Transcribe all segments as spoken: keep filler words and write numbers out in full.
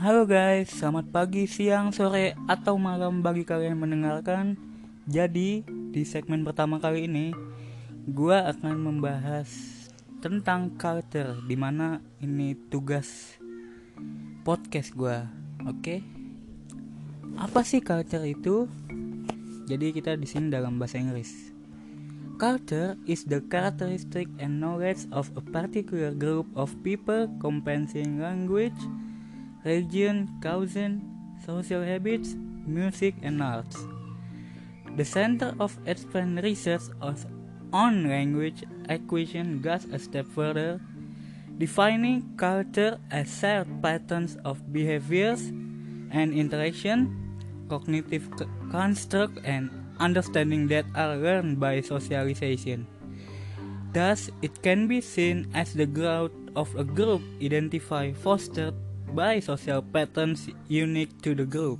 Halo guys, selamat pagi, siang, sore, atau malam bagi kalian yang mendengarkan. Jadi, di segmen pertama kali ini gua akan membahas tentang culture, dimana ini tugas podcast gua. Oke? Apa sih culture itu? Jadi kita di sini dalam bahasa Inggris. Culture is the characteristic and knowledge of a particular group of people comprising language, religion, cuisine, social habits, music, and arts. The Center of Advanced Research on Language Acquisition goes a step further, defining culture as shared patterns of behaviors and interaction, cognitive construct, and understanding that are learned by socialization. Thus, it can be seen as the growth of a group identified, fostered by social patterns unique to the group.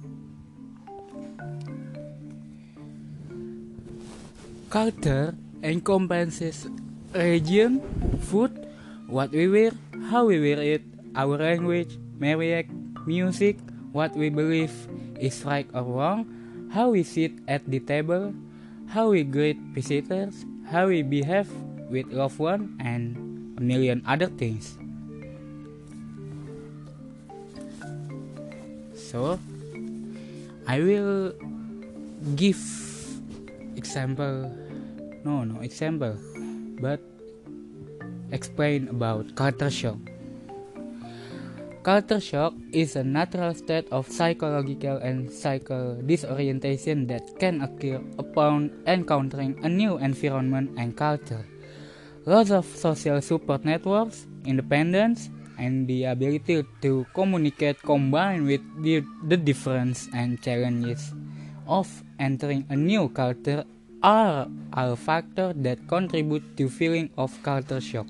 Culture encompasses religion, food, what we wear, how we wear it, our language, marriage, music, what we believe is right or wrong, how we sit at the table, how we greet visitors, how we behave with loved ones, and a million other things. So, I will give example, no, no example, but explain about culture shock. Culture shock is a natural state of psychological and psychical disorientation that can occur upon encountering a new environment and culture. Loss of social support networks, independence, and the ability to communicate combined with the, the difference and challenges of entering a new culture are all factors that contribute to feeling of culture shock.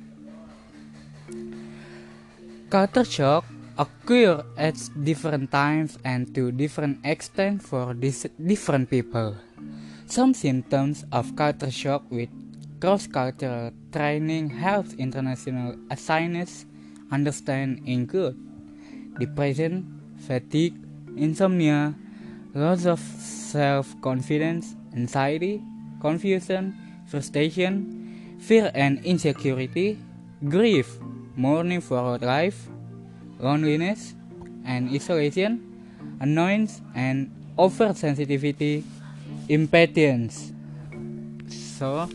Culture shock occur at different times and to different extent for dis- different people. Some symptoms of culture shock with cross-cultural training helps international assignments understand include depression, fatigue, insomnia, loss of self-confidence, anxiety, confusion, frustration, fear and insecurity, grief, mourning for life, loneliness and isolation, annoyance and oversensitivity, impatience. So,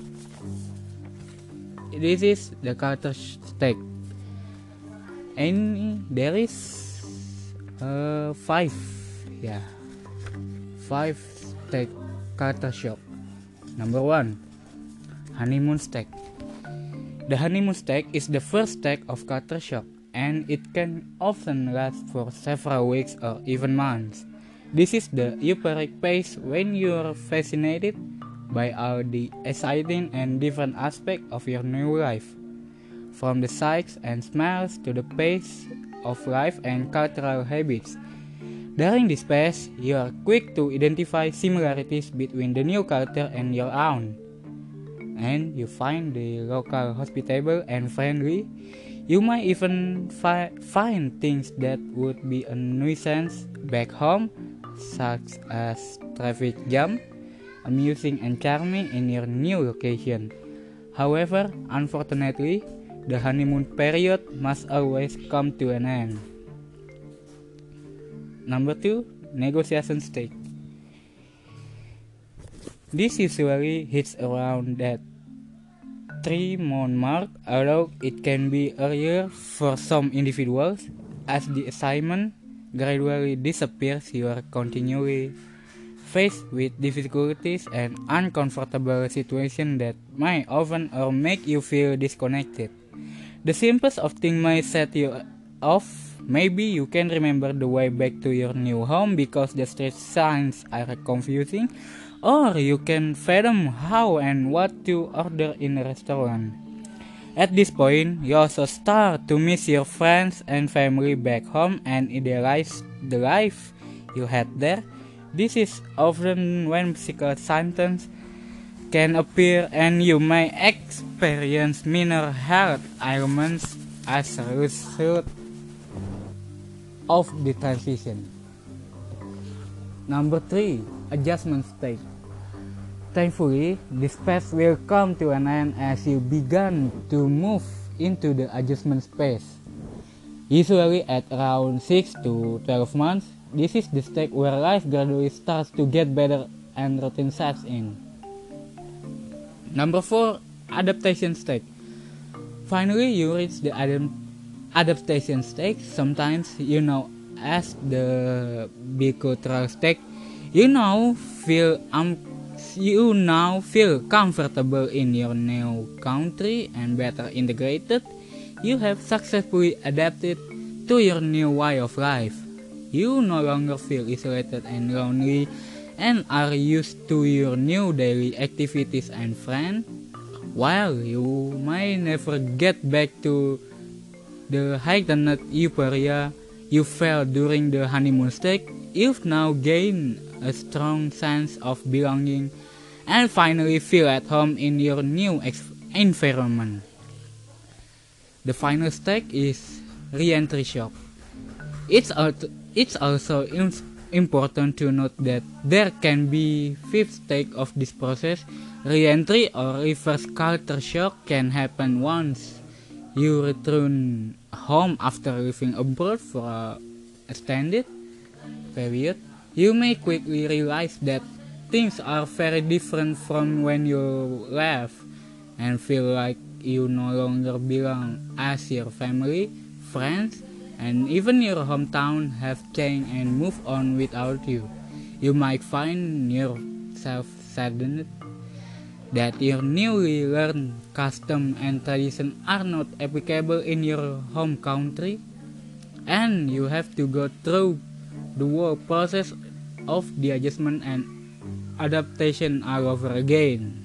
this is the culture state. And there is uh, five, yeah, five state culture shock. Number one, honeymoon stage. The honeymoon stage is the first stage of culture shock, and it can often last for several weeks or even months. This is the euphoric phase when you are fascinated by all the exciting and different aspects of your new life, from the sights and smells to the pace of life and cultural habits. During this phase, you are quick to identify similarities between the new culture and your own, and you find the local hospitable and friendly. You might even fi- find things that would be a nuisance back home, such as traffic jam, amusing and charming in your new location. However, unfortunately, the honeymoon period must always come to an end. Number two, negotiation stage. This usually hits around that three month mark, although it can be earlier for some individuals. As the assignment gradually disappears, you are continually faced with difficulties and uncomfortable situations that might often or make you feel disconnected. The simplest of things might set you off. Maybe you can remember the way back to your new home because the street signs are confusing, or you can fathom how and what to order in a restaurant. At this point, you also start to miss your friends and family back home and idealize the life you had there. This is often when physical symptoms can appear and you may experience minor health ailments as a result. of the transition. Number three, adjustment stage. Thankfully, this phase will come to an end as you begin to move into the adjustment phase. Usually at around six to twelve months, this is the stage where life gradually starts to get better and routine sets in. Number four, adaptation stage. Finally, you reach the ad- adaptation stage, sometimes you know as the bicultural stage. You now feel um, you now feel comfortable in your new country and better integrated. You have successfully adapted to your new way of life. You no longer feel isolated and lonely and are used to your new daily activities and friends. While you may never get back to the heightened euphoria you felt during the honeymoon stage, you've now gained a strong sense of belonging and finally feel at home in your new ex- environment. The final stage is re-entry shock. It's, al- it's also im- important to note that there can be fifth stage of this process. Re-entry or reverse culture shock can happen once you return home after living abroad for a extended period. You may quickly realize that things are very different from when you left and feel like you no longer belong, as your family, friends, and even your hometown have changed and moved on without you. You might find yourself saddened that your newly learned custom and tradition are not applicable in your home country, and you have to go through the whole process of the adjustment and adaptation all over again.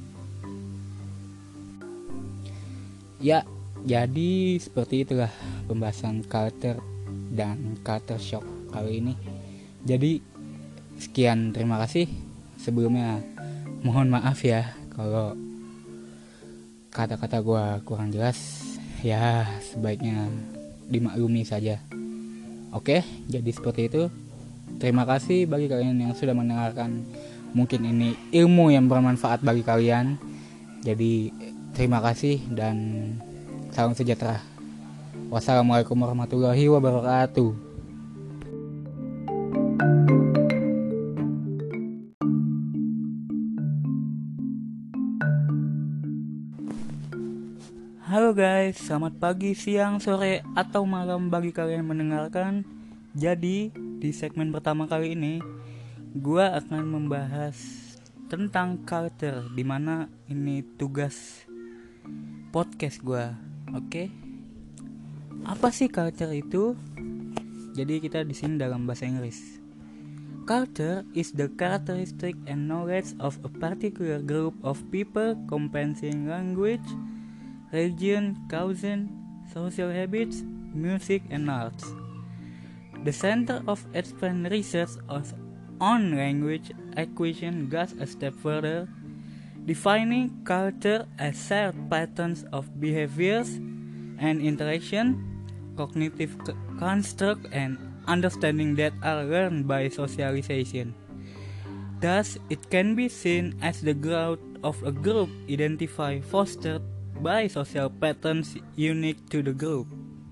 Ya, jadi seperti itulah pembahasan culture dan culture shock kali ini. Jadi sekian, terima kasih. Sebelumnya mohon maaf ya kalau kata-kata gue kurang jelas. Ya sebaiknya dimaklumi saja. Oke, jadi seperti itu. Terima kasih bagi kalian yang sudah mendengarkan. Mungkin ini ilmu yang bermanfaat bagi kalian. Jadi terima kasih dan salam sejahtera. Wassalamualaikum warahmatullahi wabarakatuh. Halo guys, selamat pagi, siang, sore, atau malam bagi kalian yang mendengarkan. Jadi, di segmen pertama kali ini, gue akan membahas tentang culture, dimana ini tugas podcast gue. Oke, apa sih culture itu? Jadi kita di sini dalam bahasa Inggris. Culture is the characteristic and knowledge of a particular group of people comprising language, religion, cuisine, social habits, music, and arts. The Center of Advanced Research on Language Acquisition goes a step further, defining culture as shared patterns of behaviors and interaction, cognitive construct, and understanding that are learned by socialization. Thus, it can be seen as the growth of a group identified, fostered by social patterns unique to the group.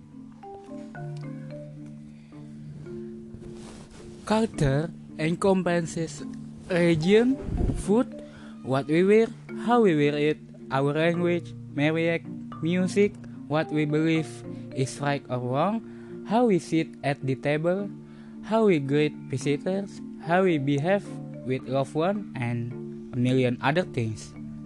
Culture encompasses religion, food, what we wear, how we wear it, our language, marriage, music, what we believe is right or wrong, how we sit at the table, how we greet visitors, how we behave with loved ones, and a million other things.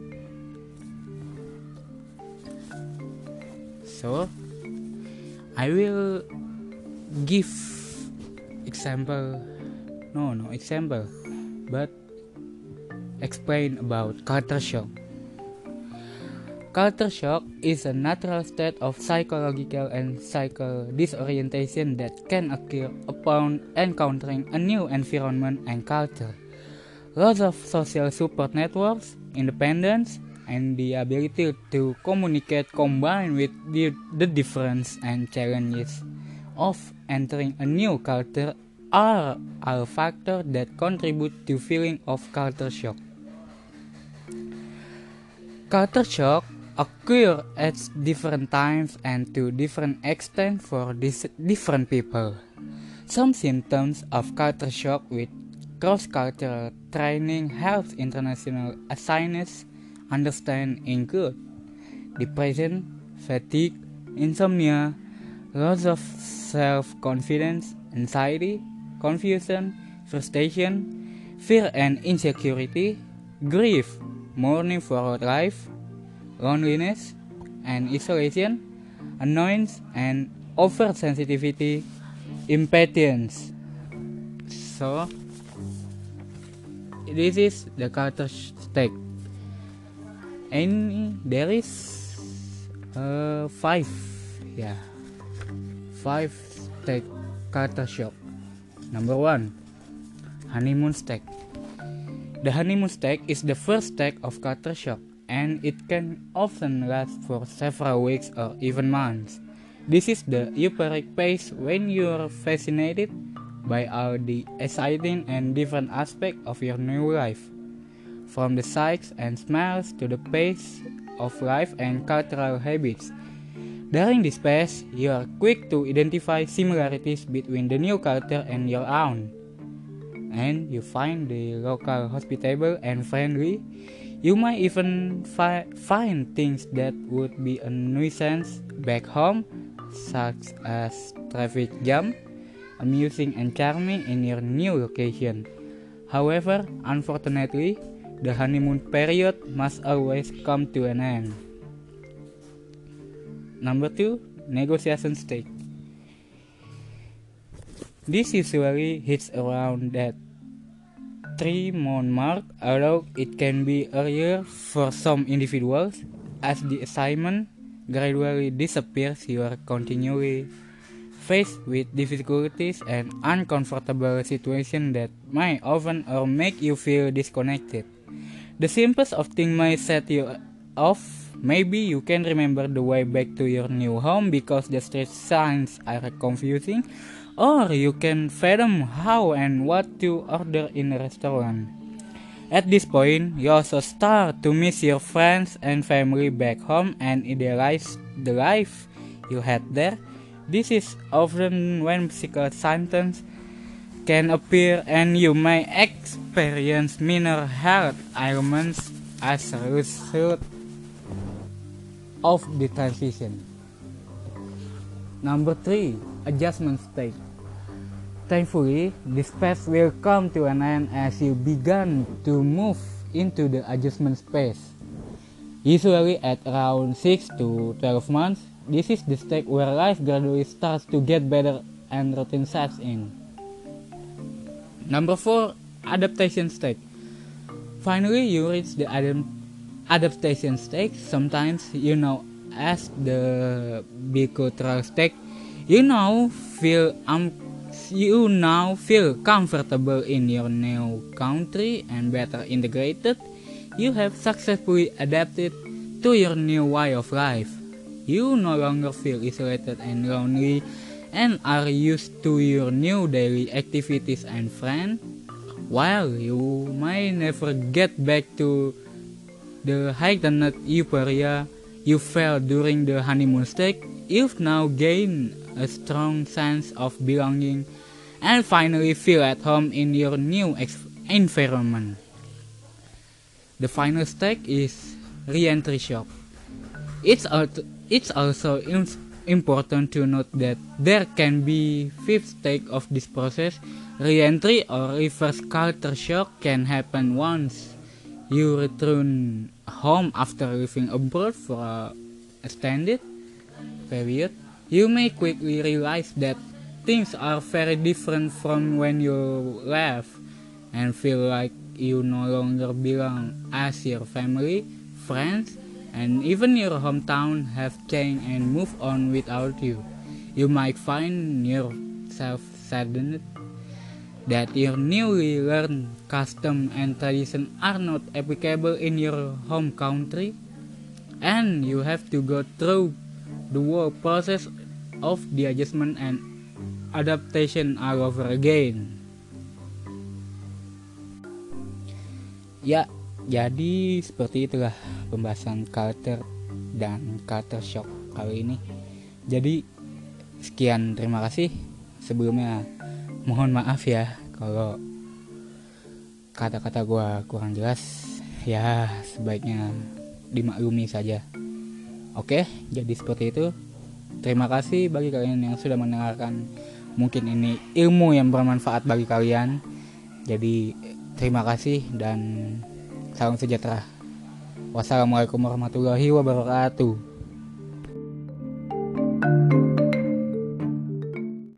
So, I will give example, no, no example, but explain about culture shock. Culture shock is a natural state of psychological and psychical disorientation that can occur upon encountering a new environment and culture. Loss of social support networks, independence, and the ability to communicate combined with the, the difference and challenges of entering a new culture are all factors that contribute to feeling of culture shock. Culture shock occur at different times and to different extent for dis- different people. Some symptoms of culture shock with cross-cultural training helps international assigners understand include depression, fatigue, insomnia, loss of self-confidence, anxiety, confusion, frustration, fear and insecurity, grief, mourning for life, loneliness and isolation, annoyance and oversensitivity, impatience. So, this is the culture state. And there is uh, five, yeah, five state culture shock. Number one, honeymoon stage. The honeymoon stage is the first stage of culture shock, and it can often last for several weeks or even months. This is the euphoric phase when you're fascinated by all the exciting and different aspects of your new life, from the sights and smells to the pace of life and cultural habits. During this phase, you are quick to identify similarities between the new culture and your own, and you find the local hospitable and friendly. You might even fi- find things that would be a nuisance back home, such as traffic jam, amusing and charming in your new location. However, unfortunately, the honeymoon period must always come to an end. Number two, negotiation stage. This usually hits around that three month mark, although it can be earlier for some individuals. As the assignment gradually disappears, you are continually faced with difficulties and uncomfortable situations that might often or make you feel disconnected. The simplest of things might set you off. Maybe you can remember the way back to your new home because the street signs are confusing, or you can fathom how and what to order in a restaurant. At this point, you also start to miss your friends and family back home and idealize the life you had there. This is often when physical symptoms can appear and you may experience minor health ailments as a result of the transition. Number three, adjustment stage. Thankfully, this phase will come to an end as you begin to move into the adjustment phase. Usually at around six to twelve months, this is the stage where life gradually starts to get better and routine sets in. Number four, adaptation stage. Finally, you reach the ad- adaptation stage, sometimes you know as the bicultural stage. You now feel um, you now feel comfortable in your new country and better integrated. You have successfully adapted to your new way of life. You no longer feel isolated and lonely and are used to your new daily activities and friends. While you may never get back to the heightened euphoria you felt during the honeymoon stage, you've now gained a strong sense of belonging and finally feel at home in your new ex- environment. The final stage is re-entry shock. It's, al- it's also in- important to note that there can be fifth stage of this process. Re-entry or reverse culture shock can happen once you return home after living abroad for a extended period. You may quickly realize that things are very different from when you left and feel like you no longer belong, as your family, friends, and even your hometown have changed and moved on without you. You might find yourself saddened that your newly learned custom and tradition are not applicable in your home country, and you have to go through the whole process of the adjustment and adaptation all over again. Ya, jadi seperti itulah pembahasan culture dan culture shock kali ini. Jadi sekian, terima kasih. Sebelumnya mohon maaf ya kalau kata-kata gue kurang jelas. Ya sebaiknya dimaklumi saja. Oke, jadi seperti itu. Terima kasih bagi kalian yang sudah mendengarkan. Mungkin ini ilmu yang bermanfaat bagi kalian. Jadi terima kasih dan salam sejahtera. Wassalamualaikum warahmatullahi wabarakatuh.